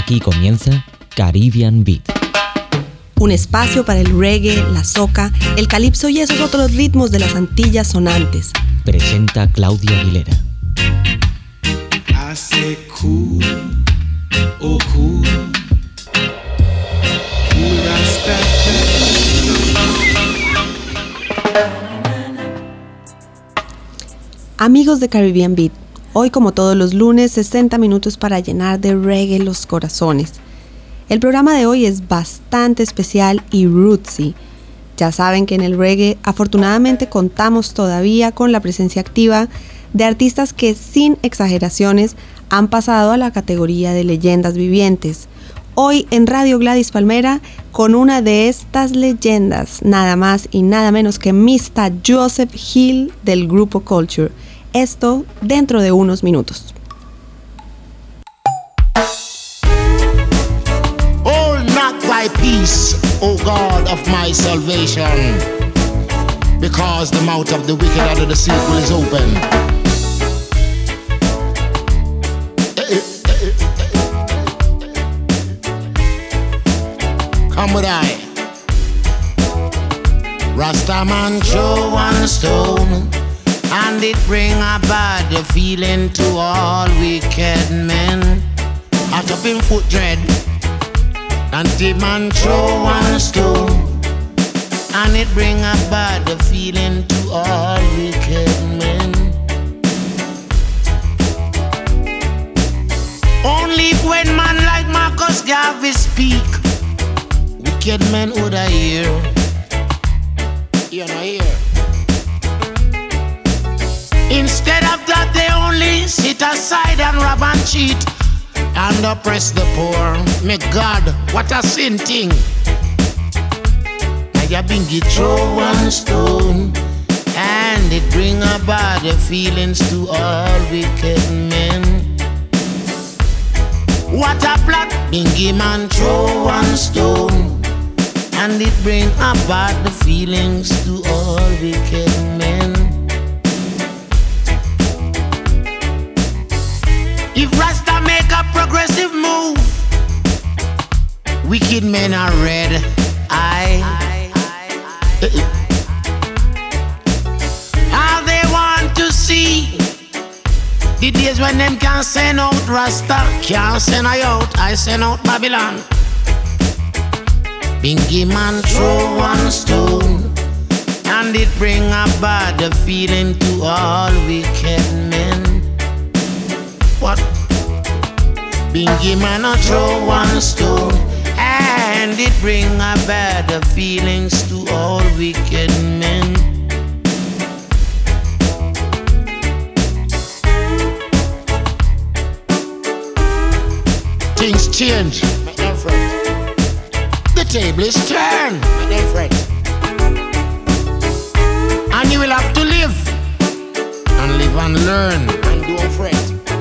Aquí comienza Caribbean Beat. Un espacio para el reggae, la soca, el calipso y esos otros ritmos de las Antillas sonantes. Presenta Claudia Aguilera. Hace cool, oh cool, cool Rasta. Amigos de Caribbean Beat, hoy como todos los lunes, 60 minutos para llenar de reggae los corazones. El programa de hoy es bastante especial y rootsy. Ya saben que en el reggae afortunadamente contamos todavía con la presencia activa de artistas que sin exageraciones han pasado a la categoría de leyendas vivientes. Hoy en Radio Gladys Palmera con una de estas leyendas, nada más y nada menos que Mr. Joseph Hill del grupo Culture. Esto dentro de unos minutos. Thy peace, O God of my salvation, because the mouth of the wicked and of the sinful is open. Come with I. Rastaman throw one stone, and it bring a bad feeling to all wicked men. Out of him foot dread. And the man throw one stone, and it bring a bad feeling to all wicked men. Only when man like Marcus Garvey speak, wicked men would I hear. You know hear. Instead of that they only sit aside and rob and cheat and oppress the poor. May God, what a sin thing. I have been get throw one stone, and it bring a bad feelings to all wicked men. What a plot, Bingy man throw one stone, and it bring a bad feelings to all wicked men. If Rasta make a progressive move, wicked men are red eye. All they want to see the days when them can send out Rasta, can't send I out, I send out Babylon. Bingy man throw one stone, and it bring a bad feeling to all wicked men. What? Bingy man a throw one stone, and it bring a bad feelings to all wicked men. Things change, my dear friend. The table is turned, my dear friend. And you will have to live and learn and don't fret.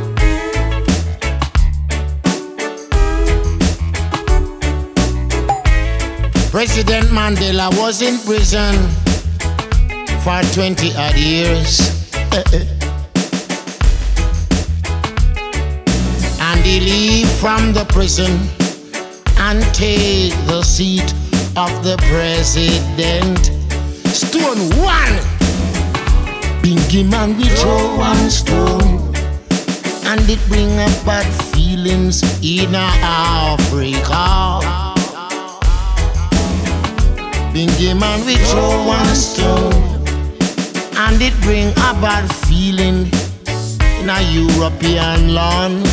President Mandela was in prison for 20 odd years. And he leave from the prison and take the seat of the president. Stone one. Bingy man we throw one stone, and it bring up bad feelings in Africa. Bingy man we throw one stone, and it bring a bad feeling in a European land.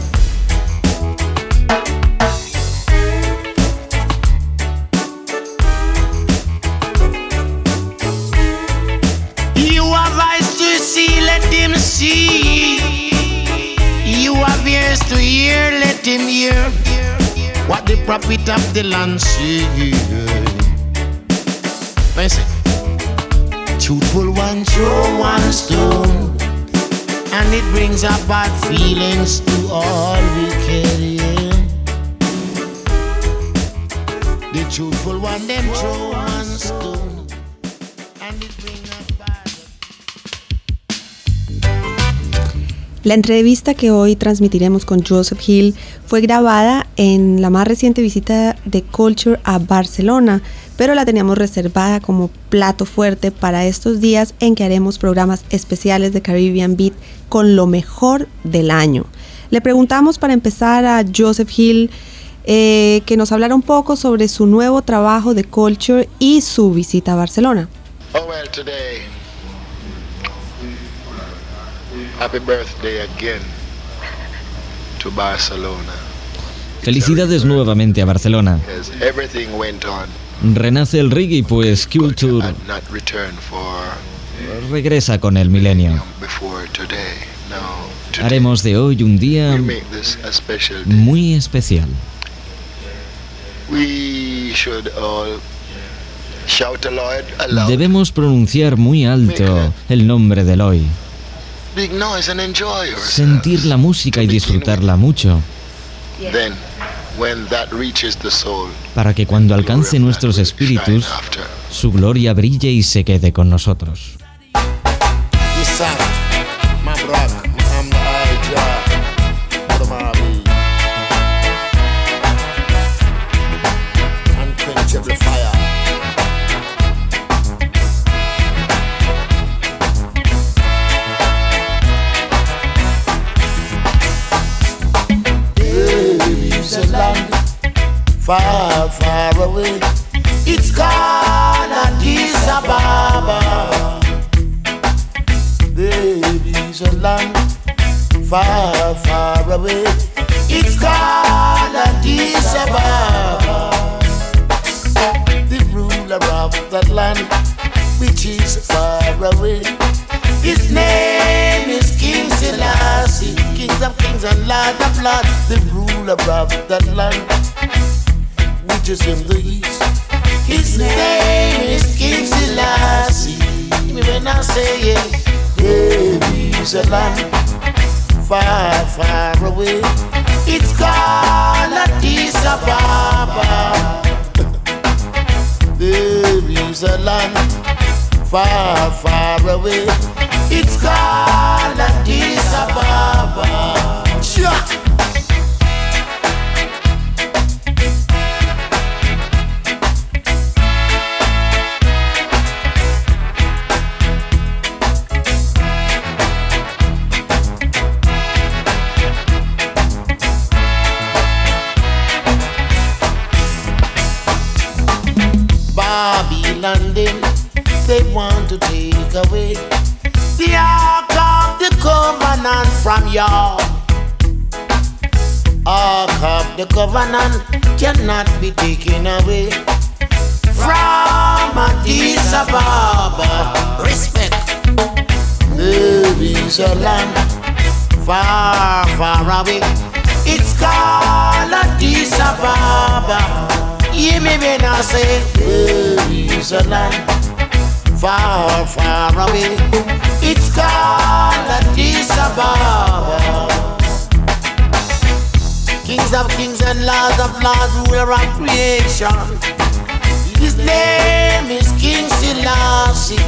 You have eyes to see, let him see. You have ears to hear, let him hear. What the prophet of the land say. Truthful one throw one stone, and it brings up bad feelings to all wicked, yeah. The truthful one them throw one stone, and it brings up bad. La entrevista que hoy transmitiremos con Joseph Hill fue grabada en la más reciente visita de Culture a Barcelona, pero la teníamos reservada como plato fuerte para estos días en que haremos programas especiales de Caribbean Beat con lo mejor del año. Le preguntamos para empezar a Joseph Hill que nos hablara un poco sobre su nuevo trabajo de Culture y su visita a Barcelona. Oh well, today, happy birthday again to Barcelona. Felicidades nuevamente a Barcelona. Yes, everything went on. Renace el reggae, pues Culture Had not returned for regresa con el milenio. before today. Now, today Haremos de hoy un día we make this a special day. muy especial. We should all shout aloud. Debemos pronunciar muy alto el nombre del hoy. Big noise and enjoy yourselves. Sentir la música y disfrutarla mucho, Then, when that reaches the soul, para que cuando alcance nuestros espíritus, shine after. su gloria brille y se quede con nosotros. This sound, my brother, I'm the high job. What am I be? Unquenchable fire. There is a land far, far away. It's called Addis Ababa. There is a land far, far away. It's called Addis Ababa. The ruler of that land, which is far away, his name is King Selassie, King of kings and Lord of lords. The ruler of that land, which is in the east, his name is King Selassie. When I say it, there is a land far, far away. It's called Addis Ababa. There is a land far, far away. It's called Addis Ababa. Yeah. London, they want to take away the Ark of the Covenant from y'all. Ark of the Covenant cannot be taken away from Addis Ababa. Respect. There is a land far, far away. It's called Addis Ababa. Hear me when I say there is a land far, far away. It's called Addis Ababa. Kings of kings and lords of lords, ruler of creation. His name is King Selassie.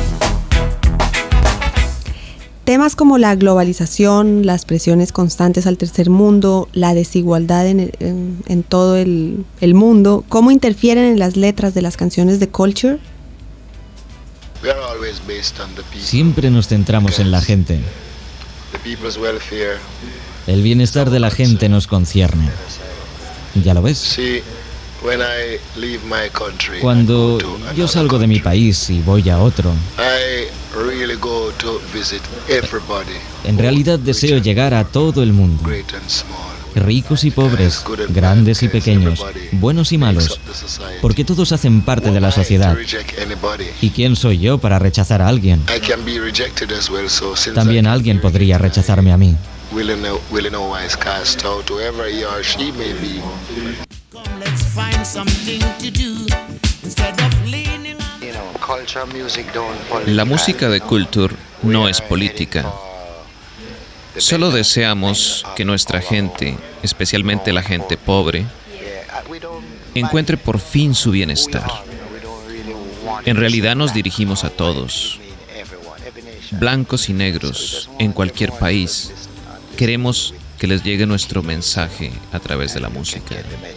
Temas como la globalización, las presiones constantes al tercer mundo, la desigualdad en todo el mundo, ¿cómo interfieren en las letras de las canciones de Culture? We are always based on the people. Siempre nos centramos en la gente. The people's welfare. El bienestar de la gente nos concierne. Ya lo ves. See, when I leave my country, Cuando I go to yo another salgo de mi country, país y voy a otro, I really go to visit everybody. en realidad deseo llegar a todo el mundo, Great and small. ricos y pobres, grandes y pequeños, buenos y malos, porque todos hacen parte de la sociedad. ¿Y quién soy yo para rechazar a alguien? También alguien podría rechazarme a mí. La música de Culture no es política. Solo deseamos que nuestra gente, especialmente la gente pobre, encuentre por fin su bienestar. En realidad nos dirigimos a todos, blancos y negros, en cualquier país, queremos que les llegue nuestro mensaje a través de la música.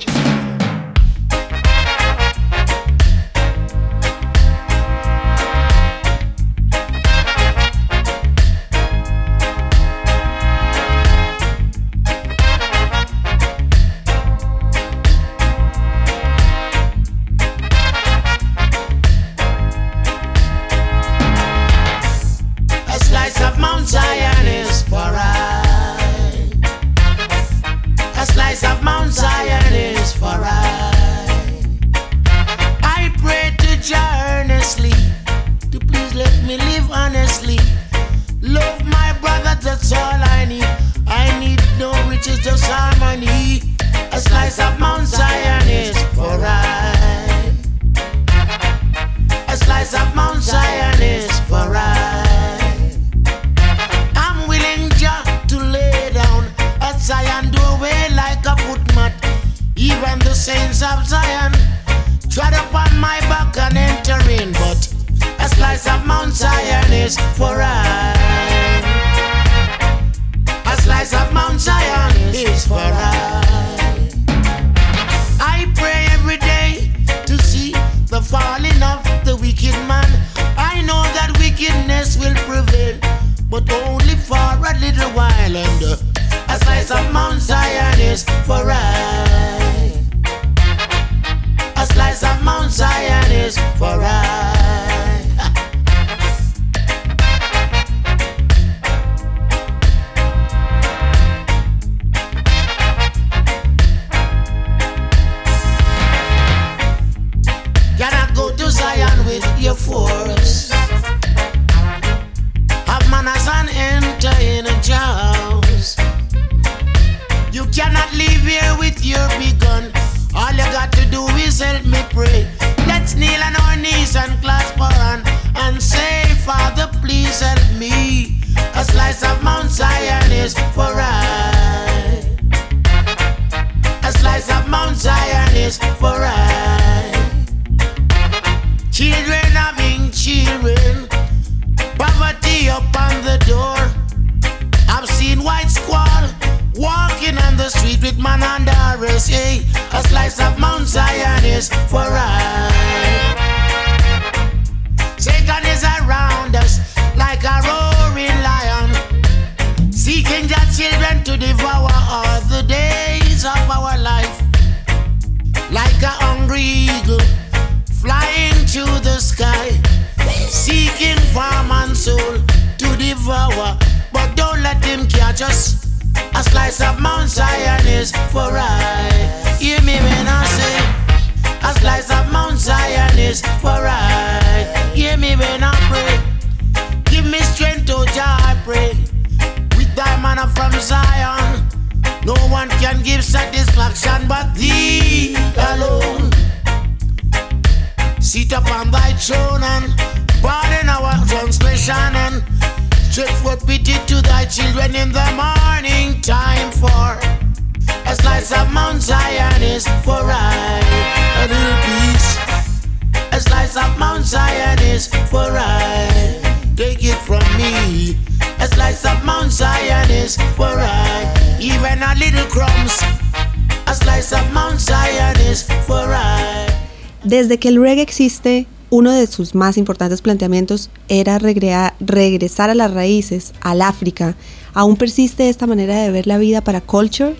Desde que el reggae existe, uno de sus más importantes planteamientos era regresar a las raíces, al África. ¿Aún persiste esta manera de ver la vida para Culture?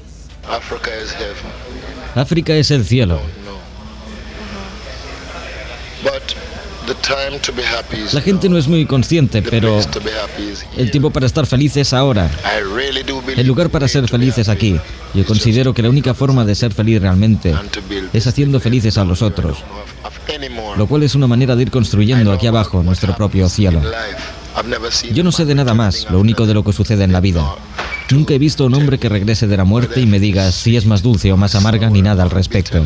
África es el cielo. La gente no es muy consciente, pero el tiempo para estar feliz es ahora. El lugar para ser feliz es aquí. Yo considero que la única forma de ser feliz realmente es haciendo felices a los otros, lo cual es una manera de ir construyendo aquí abajo nuestro propio cielo. Yo no sé de nada más, lo único de lo que sucede en la vida. Nunca he visto a un hombre que regrese de la muerte y me diga si es más dulce o más amarga ni nada al respecto.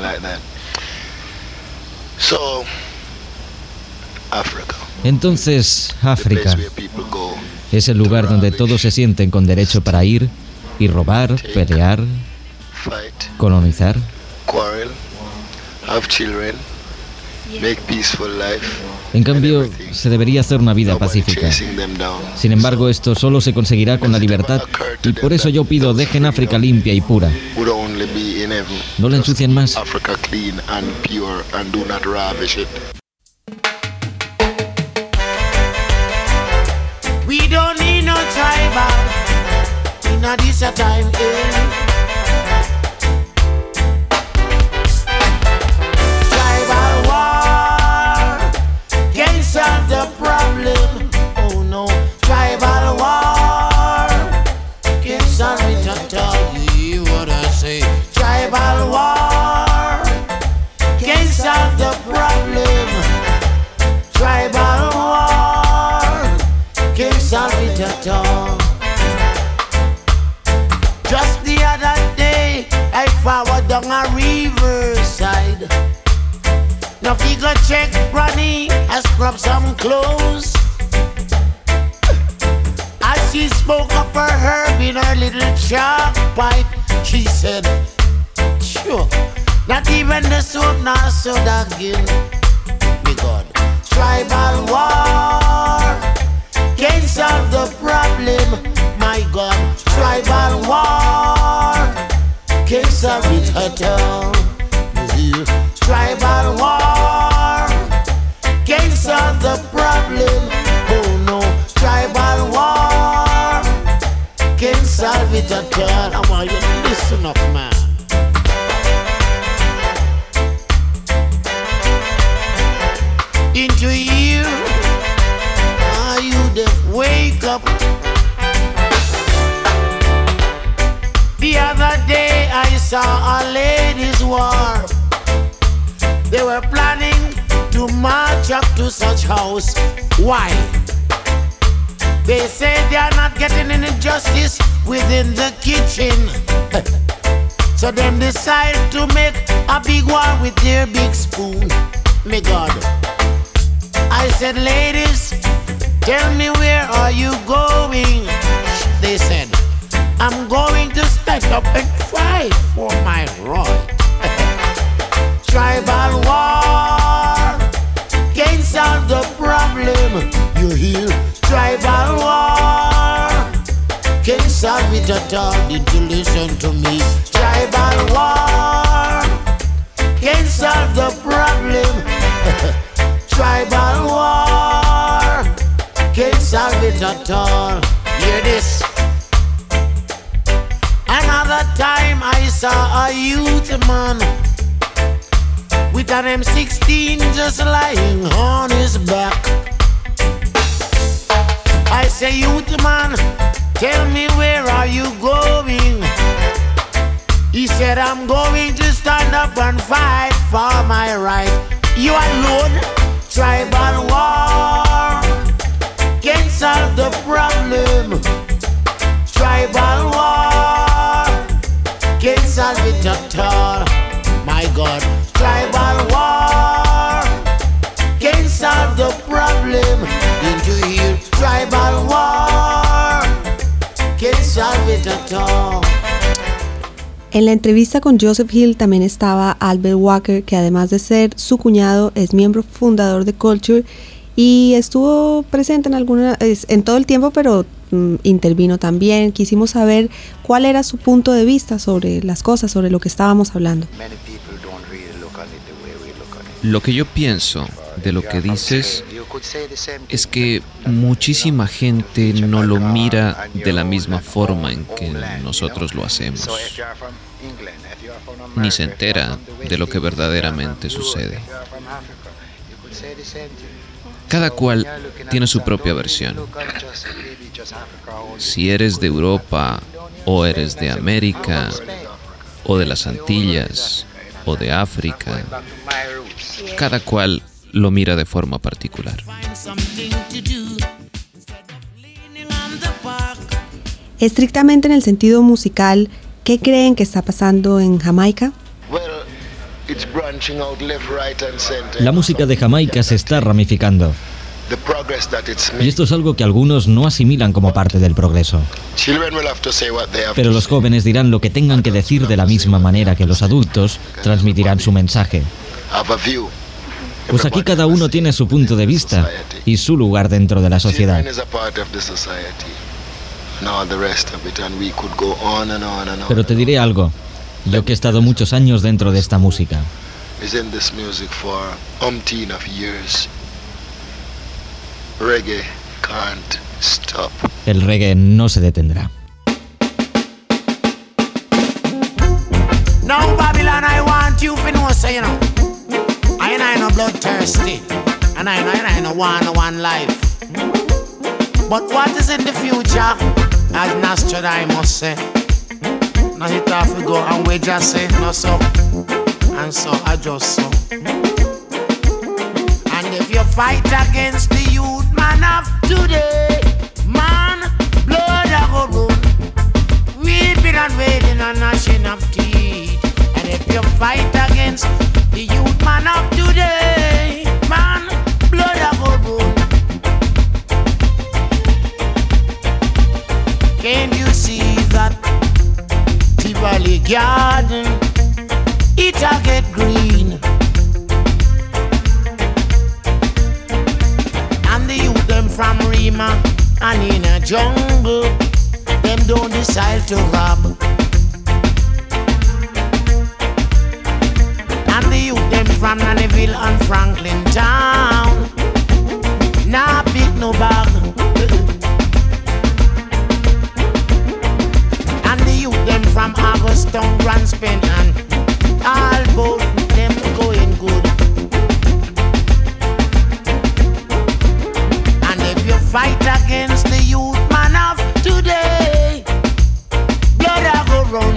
Entonces, África es el lugar donde todos se sienten con derecho para ir y robar, pelear, colonizar En cambio, se debería hacer una vida pacífica. Sin embargo, esto solo se conseguirá con la libertad, y por eso yo pido, dejen África limpia y pura. No la ensucien más. We don't need no tribal in a this a time, Tribal war can't solve the problem. Oh no, tribal war can't solve it at all. You hear what I say? Tribal war can't solve the problem. Tribal war can't solve it at all. Just the other day, I forward down a riverside. Now figure check Ronnie, I scrub some clothes. As she spoke up her herb in her little chalk pipe, she said, sure, not even the soap nor soda again. Me God, tribal war can't solve the problem, my God. Tribal war can't solve it at all. Tribal war can't solve the problem. Oh no, tribal war can't solve it at all. I want you to listen up, man. Into you, are you deaf? Wake up. The other day I saw a ladies' war. They were planning to march up to such house. Why? They say they are not getting any justice within the kitchen. So them decide to make a big war with their big spoon. Me God. I said, ladies, tell me where are you going? They said, I'm going to stand up and fight for my right. Tribal war can't solve the problem. You hear? Tribal war can't solve it at all. Did you listen to me? Tribal war can't solve the problem. Tribal war can't solve it at all. Hear this? Another time I saw a youth man with an M16 just lying on his back. I say, youth man, tell me where are you going? He said, I'm going to stand up and fight for my right. You alone? Tribal war can't solve the problem. Tribal war can't solve it at all. My God, tribal war can't solve the problem. Didn't you hear? Tribal war can't solve it at all. En la entrevista con Joseph Hill también estaba Albert Walker, que además de ser su cuñado es miembro fundador de Culture y estuvo presente en todo el tiempo, pero intervino también. Quisimos saber cuál era su punto de vista sobre las cosas, sobre lo que estábamos hablando. Lo que yo pienso de lo que dices es que muchísima gente no lo mira de la misma forma en que nosotros lo hacemos, ni se entera de lo que verdaderamente sucede. Cada cual tiene su propia versión. Si eres de Europa, o eres de América, o de las Antillas, o de África, cada cual lo mira de forma particular. Estrictamente en el sentido musical, ¿qué creen que está pasando en Jamaica? La música de Jamaica se está ramificando. Y esto es algo que algunos no asimilan como parte del progreso. Pero los jóvenes dirán lo que tengan que decir de la misma manera que los adultos transmitirán su mensaje. Pues aquí cada uno tiene su punto de vista y su lugar dentro de la sociedad. Pero te diré algo, yo que he estado muchos años dentro de esta música. El reggae no se detendrá. Now Babylon, I want you to know, so you know, I no bloodthirsty, and I no one life. But what is in the future, as Nostradamus say? Now it have to go, and we just say no so, and so I just so. And if you fight against the youth man of today, man, blood a go run, weeping and wailing and gnashing of teeth. And if you fight against the youth man of today, man, blood a go run. Can't you see that Tivoli garden, it'll get green? And the youth them from Rima and in a jungle, them don't decide to rob. And the youth them from Nannyville and Franklin town, nah pick no bag. And the youth them from Augustown, Grandspin and all both them going good. And if you fight against the youth man of today, blood a go run.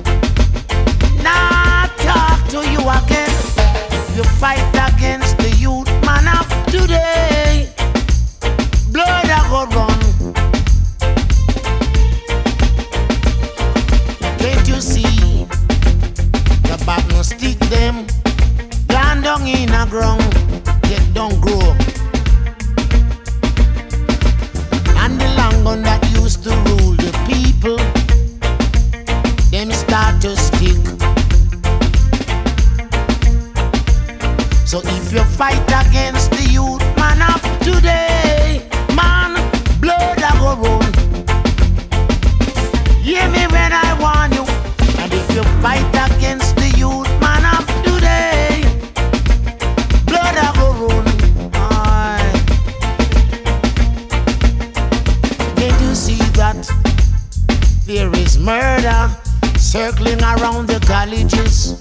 Nah talk to you again. If you fight against the youth man of today, blood a go run. Can't you see the bottom stick them gone down in a ground, yet don't grow. And the long gun that used to rule the people, them start to stick. So if you fight against the youth man of today, man, blood a go run. Hear me when I warn you. And if you fight against the youth man of today, blood a go run. Aye. Can't you see that there is murder circling around the colleges?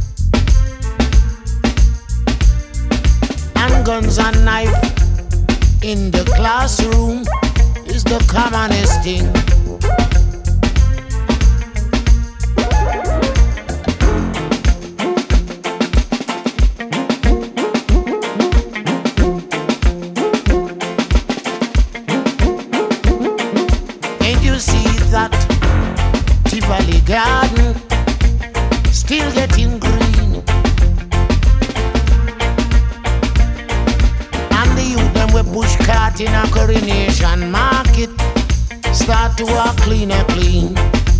And guns and knife in the classroom is the commonest thing. Can't you see that Tivoli garden still getting green? And the youth them we push cart in a Coronation Market start to walk clean and clean,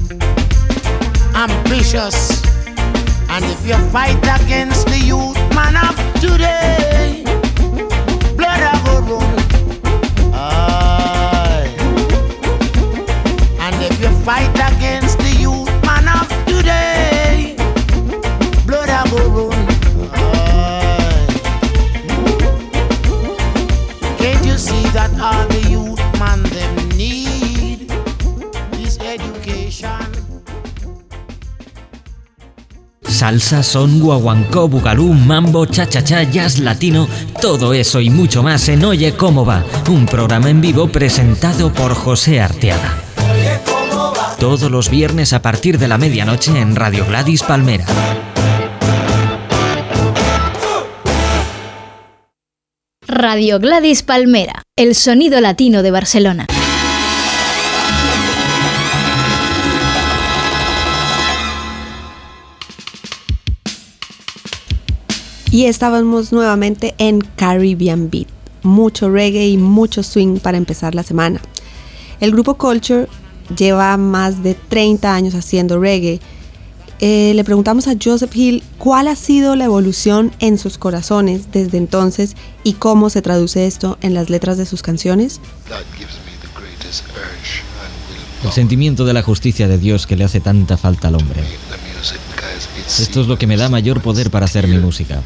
ambitious. And if you fight against the youth man of today, blood a go run. Aye. And if you fight against the youth man of today, blood a go run. Aye. Can't you see that all the youth man them need is education? Salsa, son, guaguancó, bugalú, mambo, cha-cha-cha, jazz latino, todo eso y mucho más en Oye Cómo Va, un programa en vivo presentado por José Arteaga. Todos los viernes a partir de la medianoche en Radio Gladys Palmera. Radio Gladys Palmera, el sonido latino de Barcelona. Y estábamos nuevamente en Caribbean Beat. Mucho reggae y mucho swing para empezar la semana. El grupo Culture lleva más de 30 años haciendo reggae Le preguntamos a Joseph Hill cuál ha sido la evolución en sus corazones desde entonces y cómo se traduce esto en las letras de sus canciones. El sentimiento de la justicia de Dios que le hace tanta falta al hombre. Esto es lo que me da mayor poder para hacer mi música.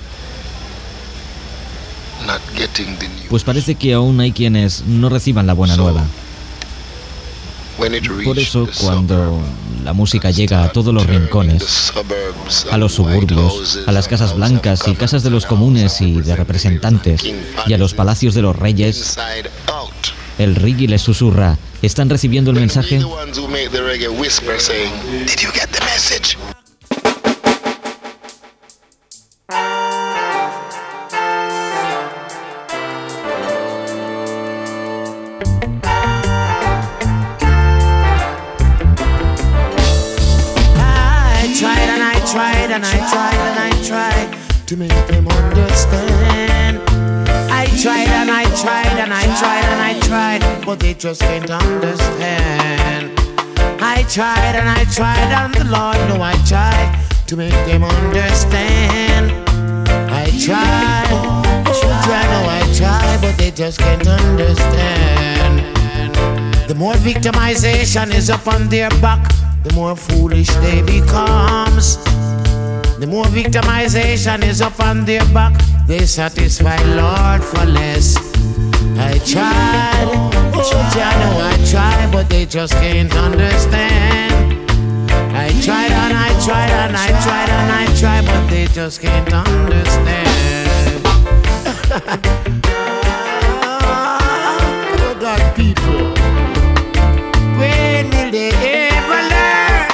Pues parece que aún hay quienes no reciban la buena nueva. Por eso, cuando la música llega a todos los rincones, a los suburbios, a las casas blancas y casas de los comunes y de representantes, y a los palacios de los reyes, el reggae les susurra: ¿están recibiendo el mensaje? And I tried to make them understand. I tried and I tried and I tried and I tried, but they just can't understand. I tried and I tried, and the Lord know I tried to make them understand. I tried, I know I tried, but they just can't understand. The more victimization is upon their back, the more foolish they becomes. The more victimization is upon their back, they satisfy Lord for less. I tried, I know I tried, but they just can't understand. I tried and I tried and I tried and I tried, but they just can't understand. Oh God, people, when will they ever learn?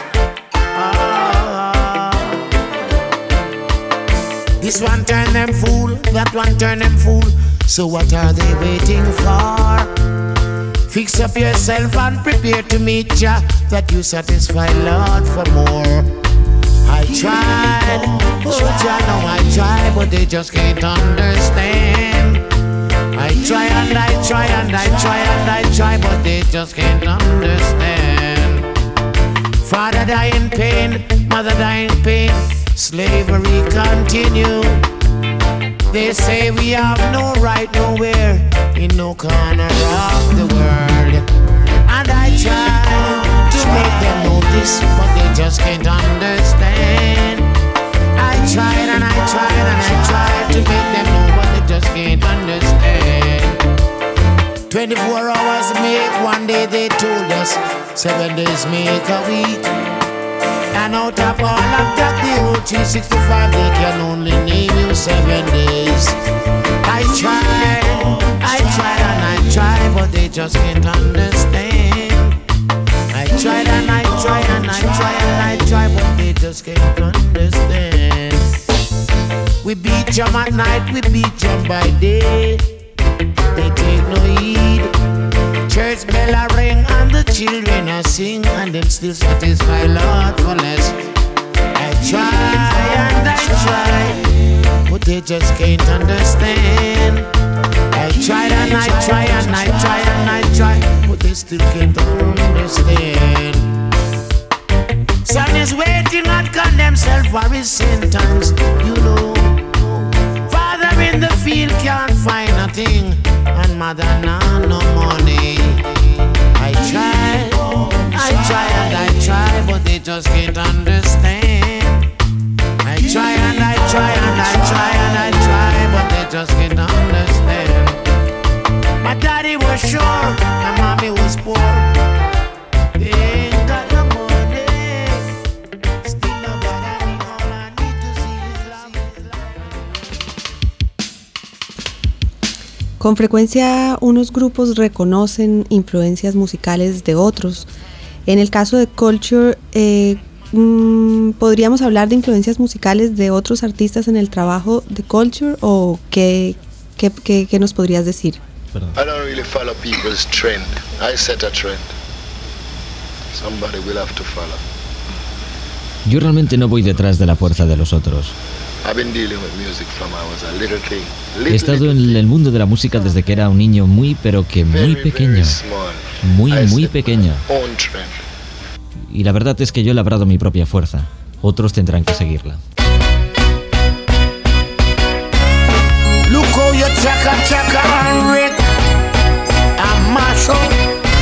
This one turn them fool, that one turn them fool. So what are they waiting for? Fix up yourself and prepare to meet Jah, that you satisfy Lord for more. I tried, Jah know I tried, but they just can't understand. I try and I try and I try and I try, but they just can't understand. Father die in pain, mother die in pain, slavery continue. They say we have no right nowhere, in no corner of the world. And I try to make them know this, but they just can't understand. I tried and I tried and I tried to make them know, but they just can't understand. 24 hours make one day, they told us. 7 days make a week. And out of all of that, the whole 365, they can only name you 7 days. I tried and I tried, but they just can't understand. I tried and I tried and I tried and I tried, but they just can't understand. We beat them at night, we beat them by day. They take no heed. Church bell a ring and the children a sing, and them still satisfy Lord for less. I try and I try, but they just can't understand. I tried and I try and I try and I try, but they still can't understand. Son is waiting and condemn himself for his sentence, you know. Father in the field can't find a thing, and mother now no money. I try and I try, but they just can't understand. I try and I try and I try and I try, but they just can't understand. My daddy was sure, my mommy was poor. They ain't got no money. Still nobody, all I need to see is love. Con frecuencia unos grupos reconocen influencias musicales de otros. En el caso de Culture, ¿podríamos hablar de influencias musicales de otros artistas en el trabajo de Culture? ¿O qué nos podrías decir? I don't really follow people's trend. I set a trend. Somebody will have to follow. Yo realmente no voy detrás de la fuerza de los otros. He estado en el mundo de la música desde que era un niño muy pequeño. Muy pequeño. Y la verdad es que yo he labrado mi propia fuerza. otros tendrán que seguirla. Look how you chaka and wreck and mash up.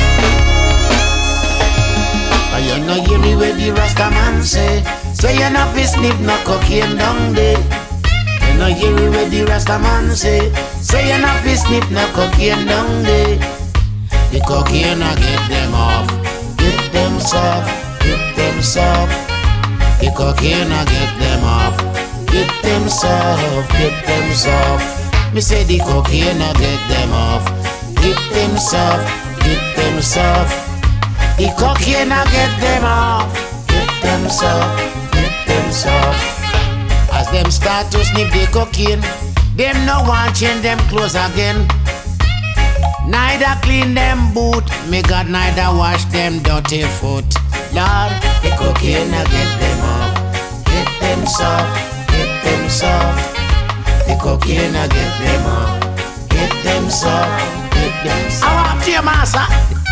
And you know hear me where the Rasta man say you not fi sniff no cocaine down there. You know hear me where the Rasta man say you not fi sniff no cocaine down there. The cocaine I get them off, get them soft, get them soft. The cocaine I get them off, get them soft, get them soft. Me say the cocaine I get them off, get them soft, get them soft. The cocaine I get them off, get them soft, get them soft. As them start to sniff the cocaine, them no want change them clothes again. Neither clean them boot, me God neither wash them dirty foot. Lord, the cocaine I get them off, get them soft, get them soft. The cocaine I get them off, get them soft, get them soft. I want to your master.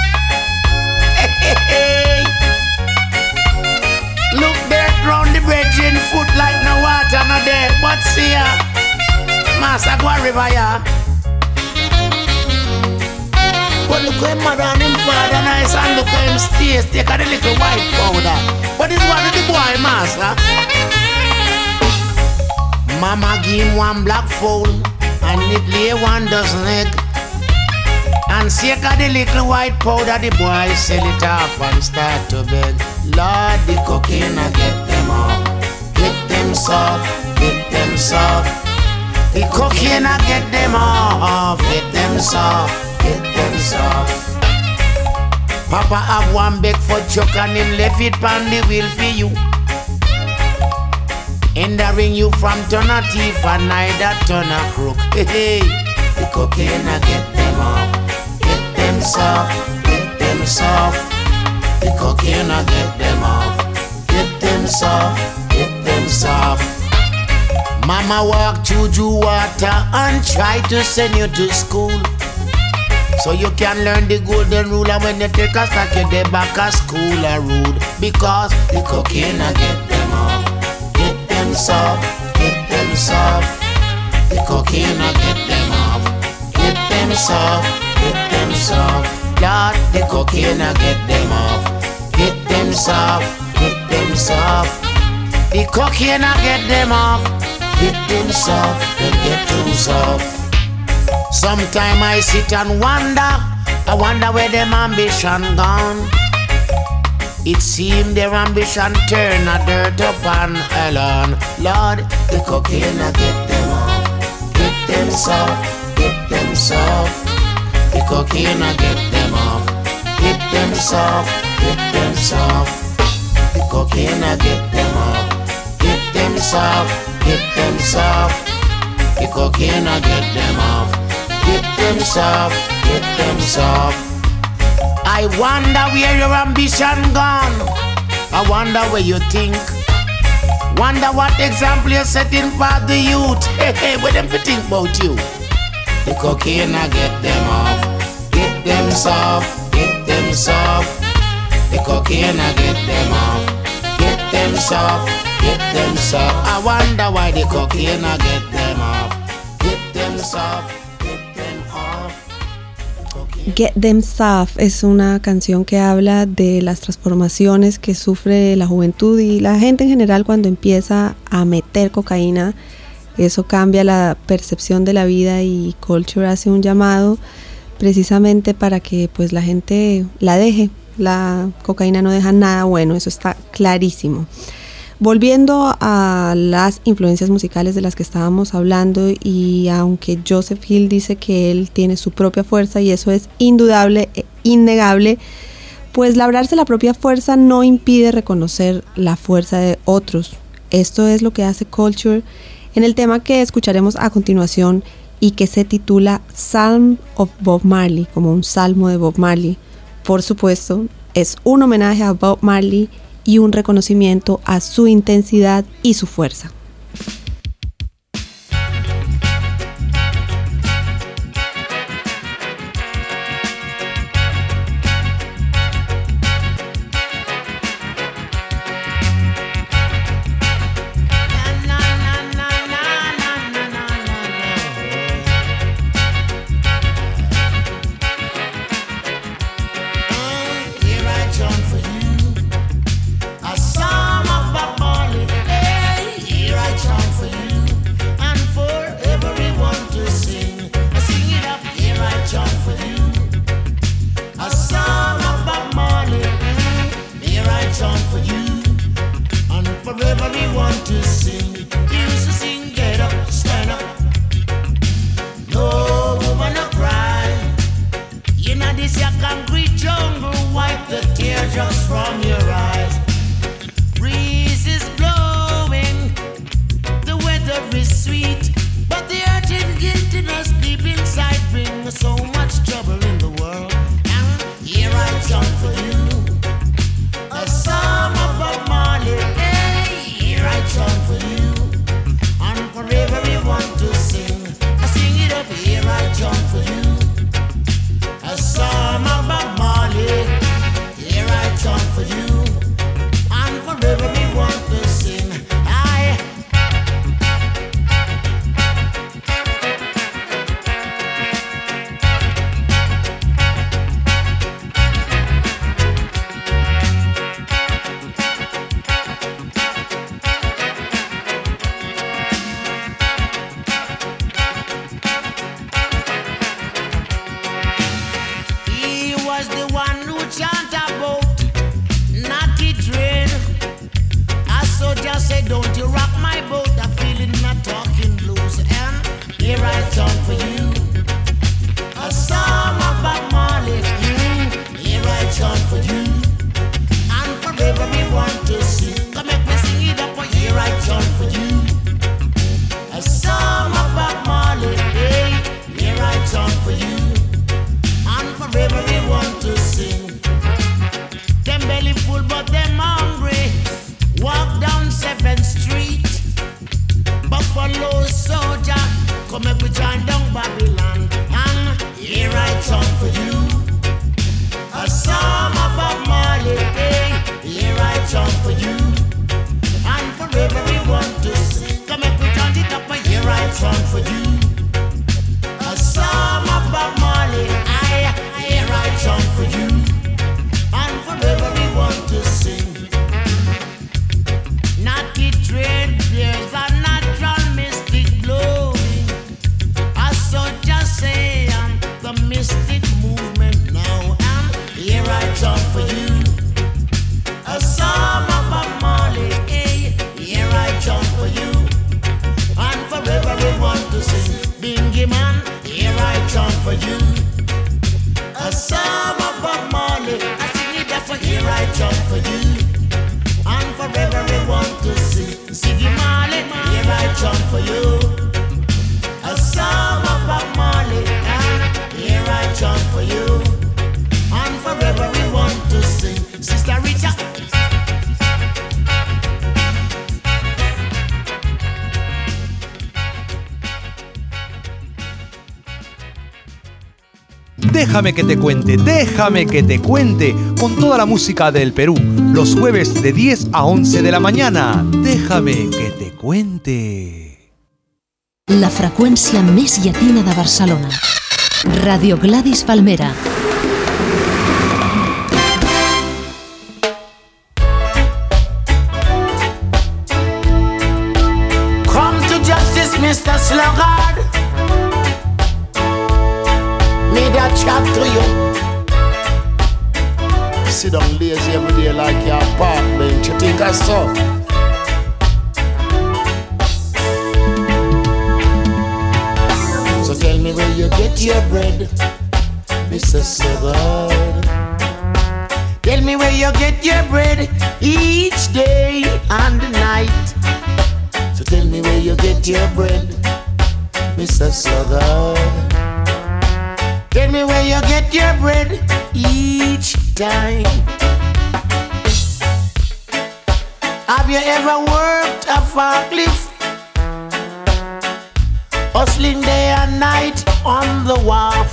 Hey. Look there round the bridge in foot like no water no there. But see ya, master go a river ya. But look how him mother and him father nice, and look how him stay take a the little white powder. But it's one of the boy master. Mama give him one black fowl, and it lay 1 dozen egg. And shake of the little white powder, the boy sell it off and start to beg. Lord, the cocaine I get them off, get them soft, get them soft. The cocaine I get them off, get them soft, get them soft. Papa have one big for chuck and him left it on the wheel for you. Hindering you from turn a thief and neither turn a crook. Hey, the cocaine I get them off, get them soft, get them soft. The cocaine I get them off, get them soft, get them soft. Mama walk through water and try to send you to school, so you can learn the golden rule. And when you take a stack, you dey back a school a rude. Because the cocaine I get them off, get them soft, get them soft. The cocaine I get them off, get them soft, get them soft. Lord, the cocaine I get them off, get them soft, get them soft. The cocaine I get them off, get them soft, they get too soft. Sometime I sit and I wonder where them ambition gone. It seemed their ambition turn a dirt upon Ellen. Lord, the cocaine I get them off, get them soft, get them soft. The cocaine I get them off, get them soft, get them soft. The cocaine I get them off, get them soft, get them soft. The cocaine I get them off, get them soft, get them soft. I wonder where your ambition gone. I wonder where you think. Wonder what example you're setting for the youth. Hey, what them to think about you? The cocaine I get them off, get them soft, get them soft. The cocaine I get them off, get them soft, get them soft. I wonder why the cocaine I get them off, get them soft. Get Them Soft es una canción que habla de las transformaciones que sufre la juventud y la gente en general cuando empieza a meter cocaína. Eso cambia la percepción de la vida y Culture hace un llamado precisamente para que pues la gente la deje. La cocaína no deja nada bueno, eso está clarísimo. Volviendo a las influencias musicales de las que estábamos hablando, y aunque Joseph Hill dice que él tiene su propia fuerza y eso es indudable e innegable, pues labrarse la propia fuerza no impide reconocer la fuerza de otros. Esto es lo que hace Culture en el tema que escucharemos a continuación y que se titula Psalm of Bob Marley, como un salmo de Bob Marley. Por supuesto, es un homenaje a Bob Marley y un reconocimiento a su intensidad y su fuerza. Come make we join down Babylon. And here I song for you. A song about Marley. Here I song for you. And forever we want to sing. Come make we join it up. Here I song for you. A song about Marley. Here I song for you. And forever we want to sing. Not the trade, there's a natural mystic blowing. I saw just say the mystic movement now. And here I talk for you. A song of Marley, here I talk for you. And forever we want to sing. Bingy man, here I talk for you. A song of Marley, I sing it just for here I talk for you. And forever we want to sing. Siggy Marley, here I chant for you. A song of Bob Marley, and here I chant for you. And forever we want to sing. Sister Rita. Déjame que te cuente, con toda la música del Perú, los jueves de 10 a 11 de la mañana. Déjame que te cuente. La freqüència més llatina de Barcelona. Radio Gladys Palmera. Come to justice, Mr. Sluggard. Need a chat to you. Sit down lazy every day like your park bench. You think I saw? So tell me where you get your bread, Mr. Sluggard. Tell me where you get your bread each day and night. So tell me where you get your bread, Mr. Sluggard. Tell me where you get your bread each time. Have you ever worked a forklift? Hustling day and night on the wharf.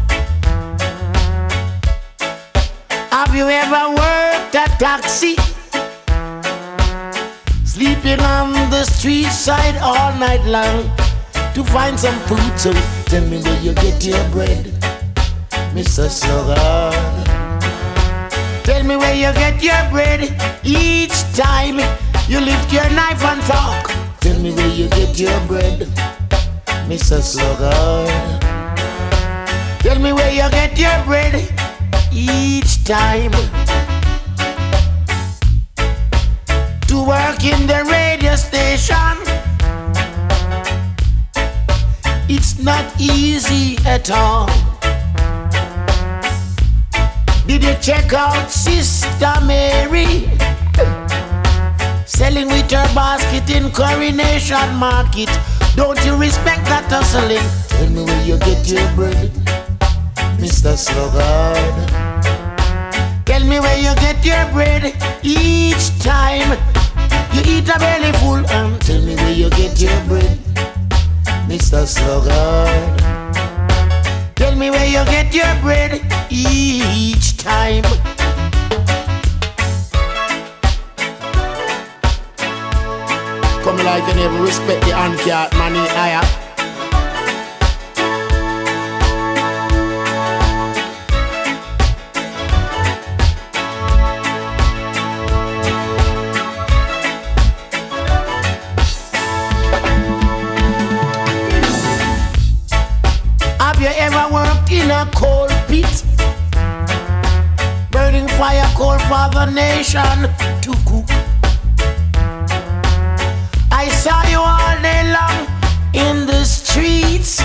Have you ever worked a taxi? Sleeping on the street side all night long to find some food. So tell me where you get your bread, Mr. Sluggard. Tell me where you get your bread each time you lift your knife and fork. Tell me where you get your bread, Mr. Sluggard. Tell me where you get your bread each time to work in the radio station. It's not easy at all. Did you check out Sister Mary selling with her basket in Coronation Market? Don't you respect that hustling? Tell me where you get your bread, Mr. Sluggard. Tell me where you get your bread each time you eat a belly full. And tell me where you get your bread, Mr. Sluggard. Tell me where you get your bread each time. Come like you never respect the uncat money higher. Have you ever worked in a coal pit? Burning fire coal for the nation to cook. I saw you all day long in the streets.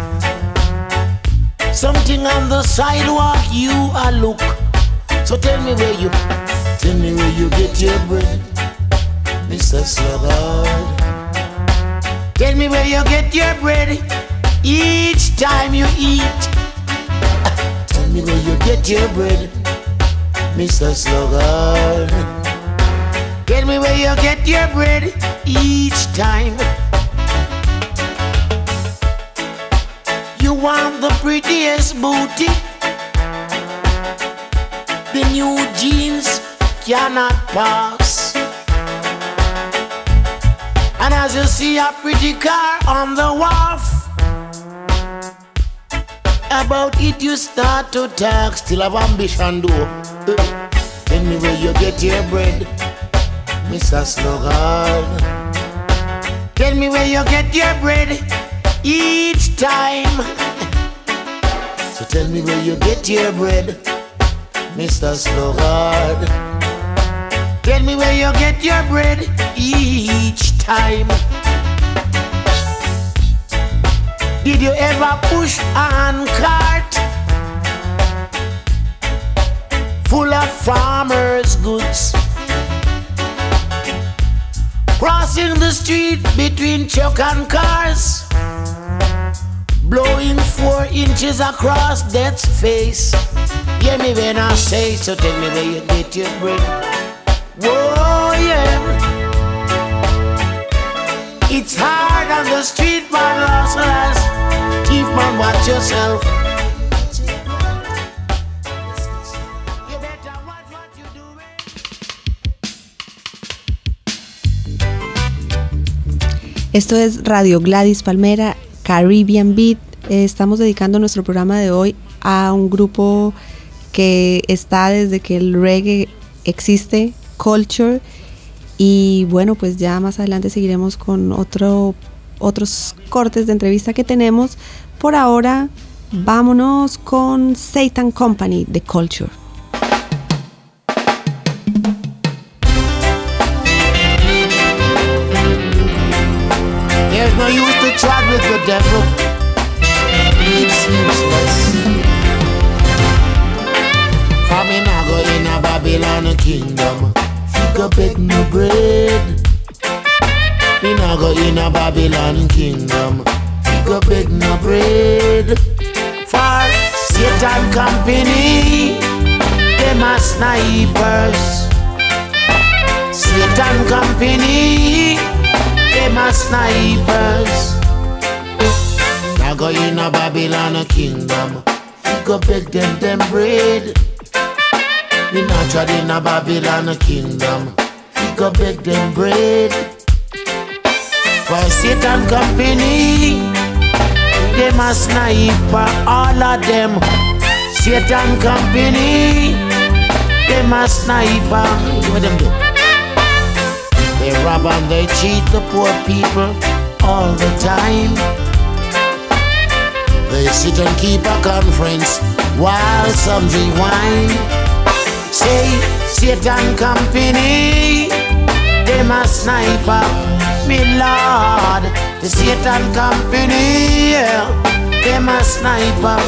Something on the sidewalk you a look. So tell me where you get your bread, Mr. Sluggard. Tell me where you get your bread each time you eat. Tell me where you get your bread, Mr. Sluggard. Tell me where you get your bread each time. prettiest booty. The new jeans cannot pass. And as you see a pretty car on the wharf, about it you start to talk. Still have ambition though. Tell me where you get your bread, Mr. Sluggard. Tell me where you get your bread each time. So tell me where you get your bread, Mr. Sluggard. Tell me where you get your bread each time. Did you ever push a handcart full of farmers' goods, crossing the street between truck and cars, blowing 4 inches across death's face? Hear me when I say, so tell me where you get your bread. Whoa, yeah. It's hard on the street, man, hustlers. Thief, man, watch yourself. You better watch what you doing. Esto es Radio Gladys Palmera, Caribbean Beat. Estamos dedicando nuestro programa de hoy a un grupo que está desde que el reggae existe, Culture. Y bueno, pues ya más adelante seguiremos con otros cortes de entrevista que tenemos. Por ahora, vámonos con Satan Company de Culture. There's no use to chat with the devil. It's useless. Coming I go in a Babylon kingdom. Go beg no bread. Me nah go in a Babylon kingdom. Go beg no bread. For Satan company, them a snipers. Satan company, them a snipers. Nah go in a Babylon kingdom. Go beg them bread. Me not tried in a Babylon kingdom. We go beg them bread. For Satan company, them a sniper, all of them. Satan company, them a sniper. What them do? They rob and they cheat the poor people all the time. They sit and keep a conference while some drink wine. Say, Satan company, them a sniper, me lord. The Satan company, yeah, them a sniper.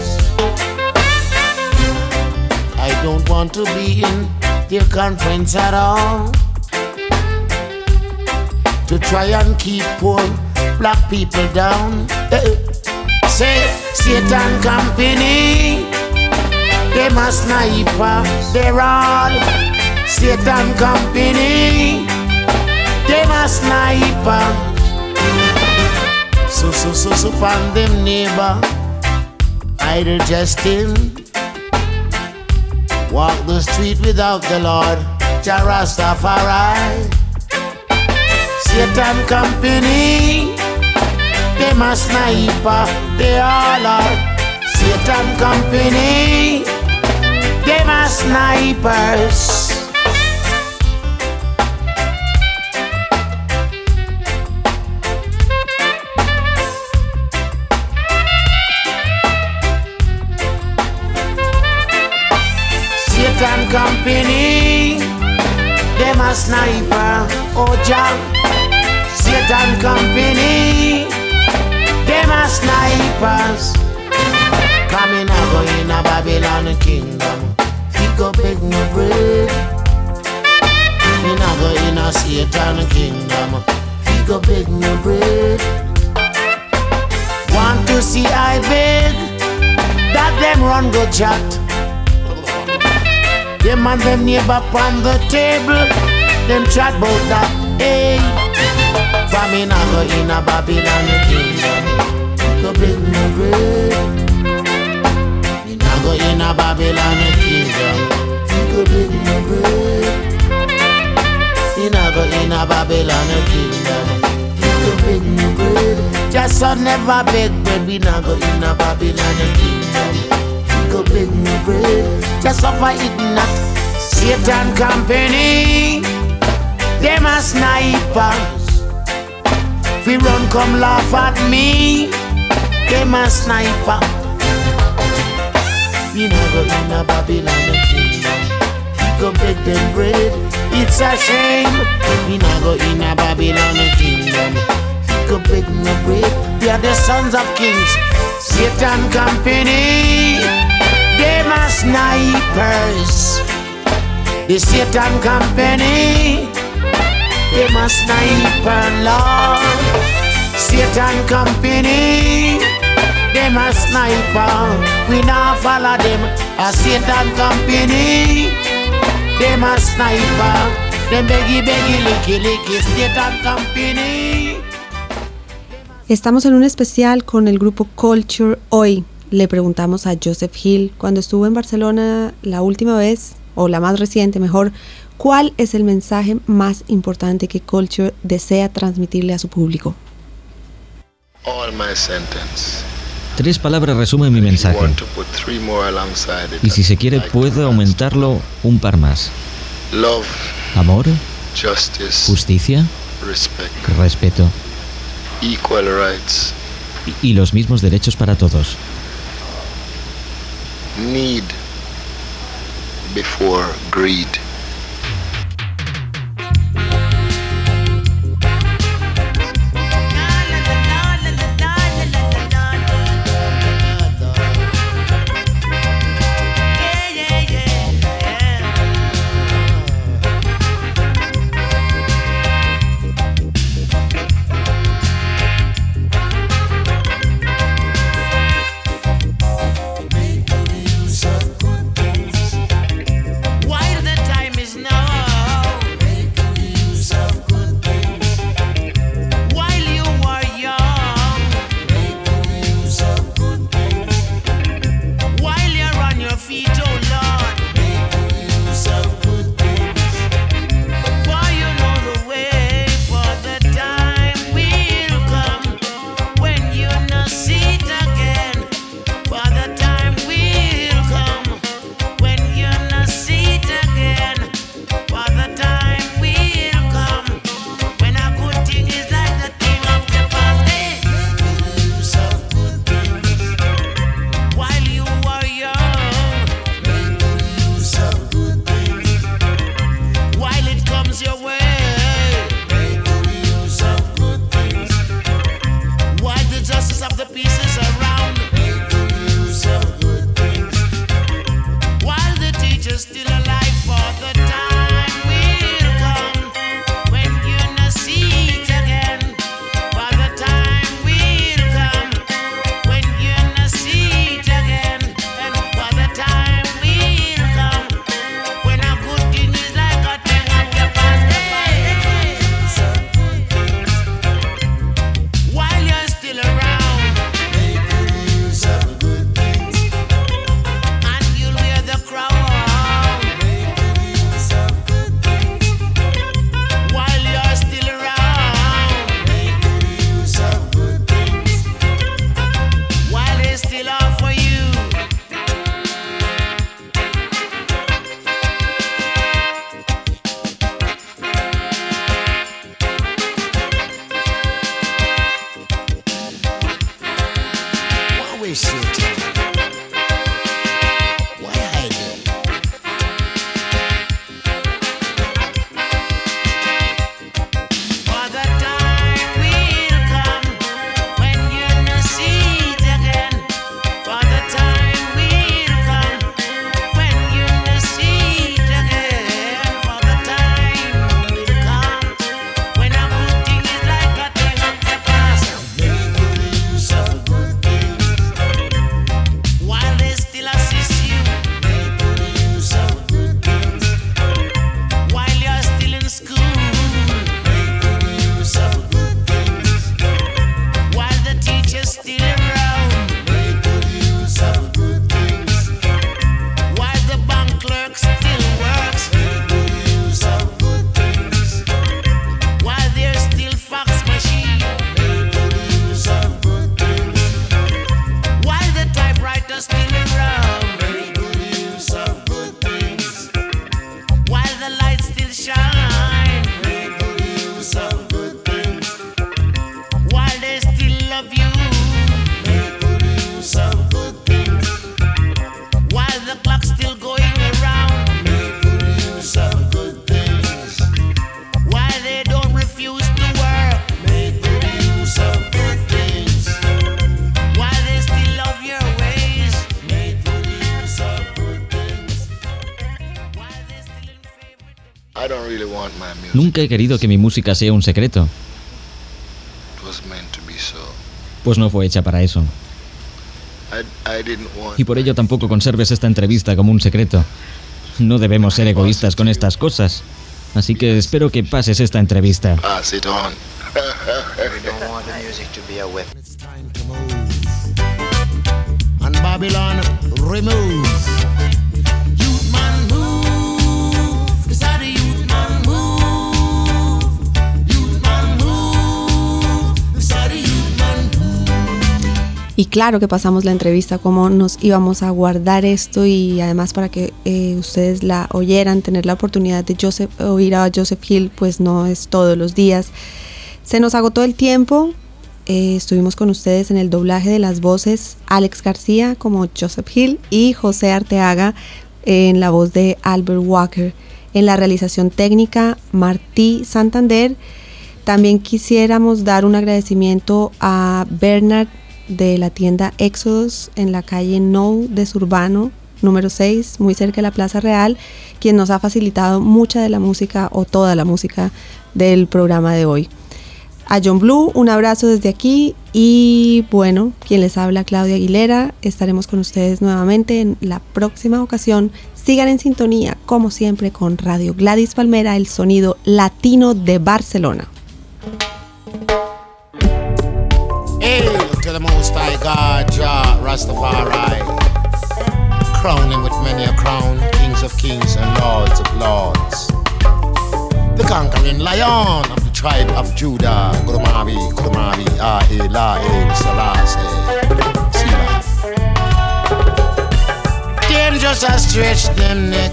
I don't want to be in their conference at all, to try and keep poor black people down. Say, Satan company, them a sniper, they're all Satan company, them a sniper. So pan them neighbor, idle jesting. Walk the street without the Lord, Jah Rastafari. Satan company, them a sniper, they all are Satan company. Them are snipers. Satan company, them a sniper. Oh Jah, Satan company, them a snipers. Coming a go in a Babylon kingdom. He go beg no bread. Me nah go in a Satan kingdom. He go beg no bread. Want to see I beg that them run go chat. Them and them neighbor on the table, them chat about that. Hey, for me nah go in a Babylon kingdom. He go beg no bread. go in a Babylon kingdom. He go beg me bread. He not go in a Babylon kingdom. He go beg me bread. Just son never beg bread. We not go in a Babylon kingdom. He go beg me bread. Just suffer it not. Satan company. Them a snipers. Fi run come laugh at me. Them a sniper. We not go in a Babylon kingdom. We go beg them bread. It's a shame. We not go in a Babylon kingdom. We go beg no bread. We are the sons of kings. Satan company. Them a snipers. The Satan company. Them a sniper, Lord. Satan company. Them a sniper. We not follow them. A Satan company. Them a sniper. Them beggy licky licky. Satan company. Estamos en un especial con el grupo Culture. Hoy le preguntamos a Joseph Hill, cuando estuvo en Barcelona la última vez, o la más reciente mejor, ¿cuál es el mensaje más importante que Culture desea transmitirle a su público? All my sentence. 3 palabras resumen mi mensaje. Y si se quiere, puedo aumentarlo un par más. Love, amor, justice, justicia, respeto, equal rights, y los mismos derechos para todos. Need before greed. While the time Nunca he querido que mi música sea un secreto. Pues no fue hecha para eso. Y por ello tampoco conserves esta entrevista como un secreto. No debemos ser egoístas con estas cosas. Así que espero que pases esta entrevista. Pass it on. We don't want the music to be a weapon. It's time to move. And Babylon remove. Youth man move. It's how the youth man move. Youth man move. It's how the youth man move. Y claro que pasamos la entrevista como nos íbamos a guardar esto, y además para que ustedes la oyeran, tener la oportunidad de oír a Joseph Hill, pues no es todos los días. Se nos agotó el tiempo. Estuvimos con ustedes en el doblaje de las voces Alex García como Joseph Hill y José Arteaga en la voz de Albert Walker. En la realización técnica, Martí Santander. También quisiéramos dar un agradecimiento a Bernard de la tienda Exodus en la calle Nou de Surbano, número 6, muy cerca de la Plaza Real, quien nos ha facilitado mucha de la música o toda la música del programa de hoy. A John Blue, un abrazo desde aquí, y bueno, quien les habla, Claudia Aguilera. Estaremos con ustedes nuevamente en la próxima ocasión. Sigan en sintonía, como siempre, con Radio Gladys Palmera, el sonido latino de Barcelona. Hail to the Most High God, Jah Rastafari, crowning with many a crown, kings of kings and lords of lords. The conquering lion of the tribe of Judah, Gurumabi, Selassie. Dangerous I stretch them neck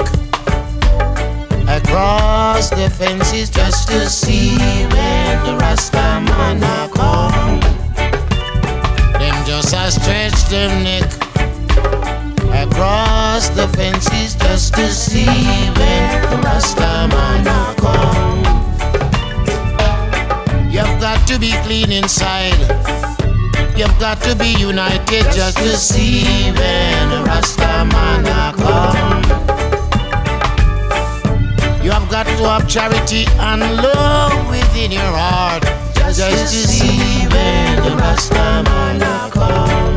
across the fences just to see when the Rasta man a come. Them just a stretch them neck across the fences just to see when the Rasta man a come. You've got to be clean inside. You've got to be united just to see when the Rasta man a come. You have got to have charity and love within your heart just to see when the Rasta man a come.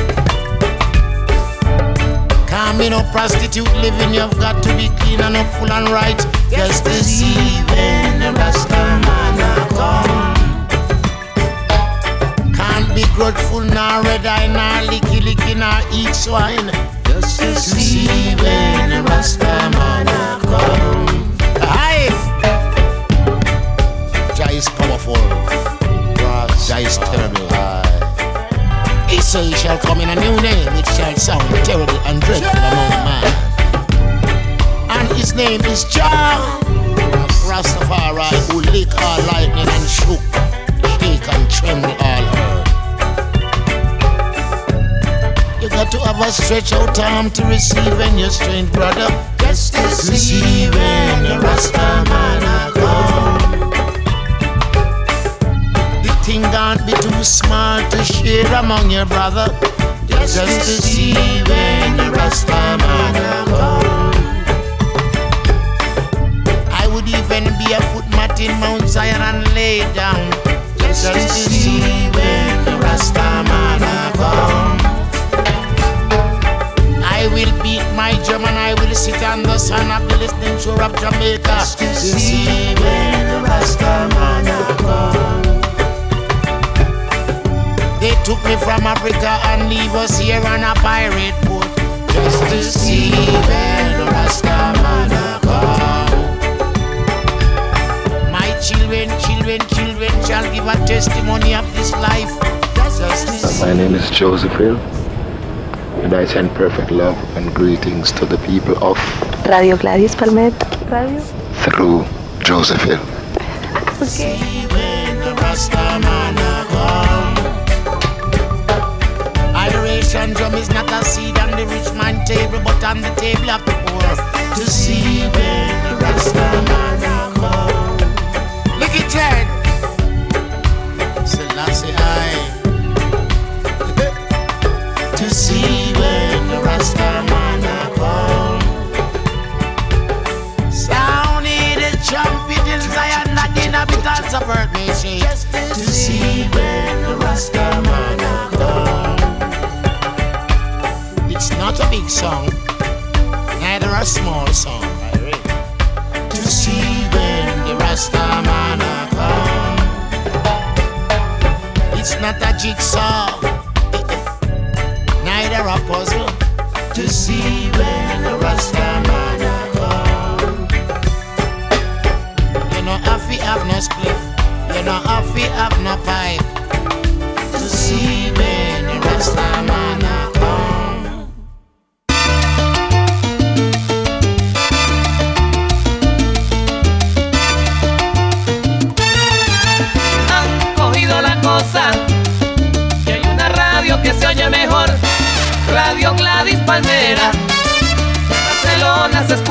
Can't be no prostitute living, you've got to be clean and up full and right just to see when the Rasta man a come. Can't be grudgeful, nor red eye, nor licky, nor eat swine just to see when the Rasta man a come. Aye! Jah is powerful, Jah is terrible. He say he shall come in a new name, which shall sound terrible and dreadful among man. And his name is Jah Rastafari, who lick all lightning and shook, shake and tremble all earth. You got to have a stretch out arm to receive when you're strange, brother, just to see when the Rasta man a come. Thing can't be too small to share among your brother, just to see when the Rasta man a come. I would even be a footmat in Mount Zion and lay down, just to see when the Rasta man a come. I will beat my drum and I will sit on the sun of the listening shore of Jamaica, just to see when the Rasta man a come. They took me from Africa and leave us here on a pirate boat, just to see when the Rasta man a come. My children shall give a testimony of this life, just to see. My name is Joseph Hill, and I send perfect love and greetings to the people of Radio Gladys Palmera Radio through Joseph Hill. Okay. See when the Rasta man a come. Adoration drum is not a seed on the rich man table, but on the table of the poor, to see when the Rasta man a come. Look at that. Selassie I. To see when the Rasta man a come. Sound the trumpet in hearts of earth may shake to see when the Rastaman come. It's not a big song, neither a small song, to see when the Rastaman come. It's not a jigsaw, neither a puzzle, to see when the Rastaman come. You know if we have no spliff, you know if we have no pipe, to see when the Rastaman come. Que hay una radio que se oye mejor, Radio Gladys Palmera. En Barcelona se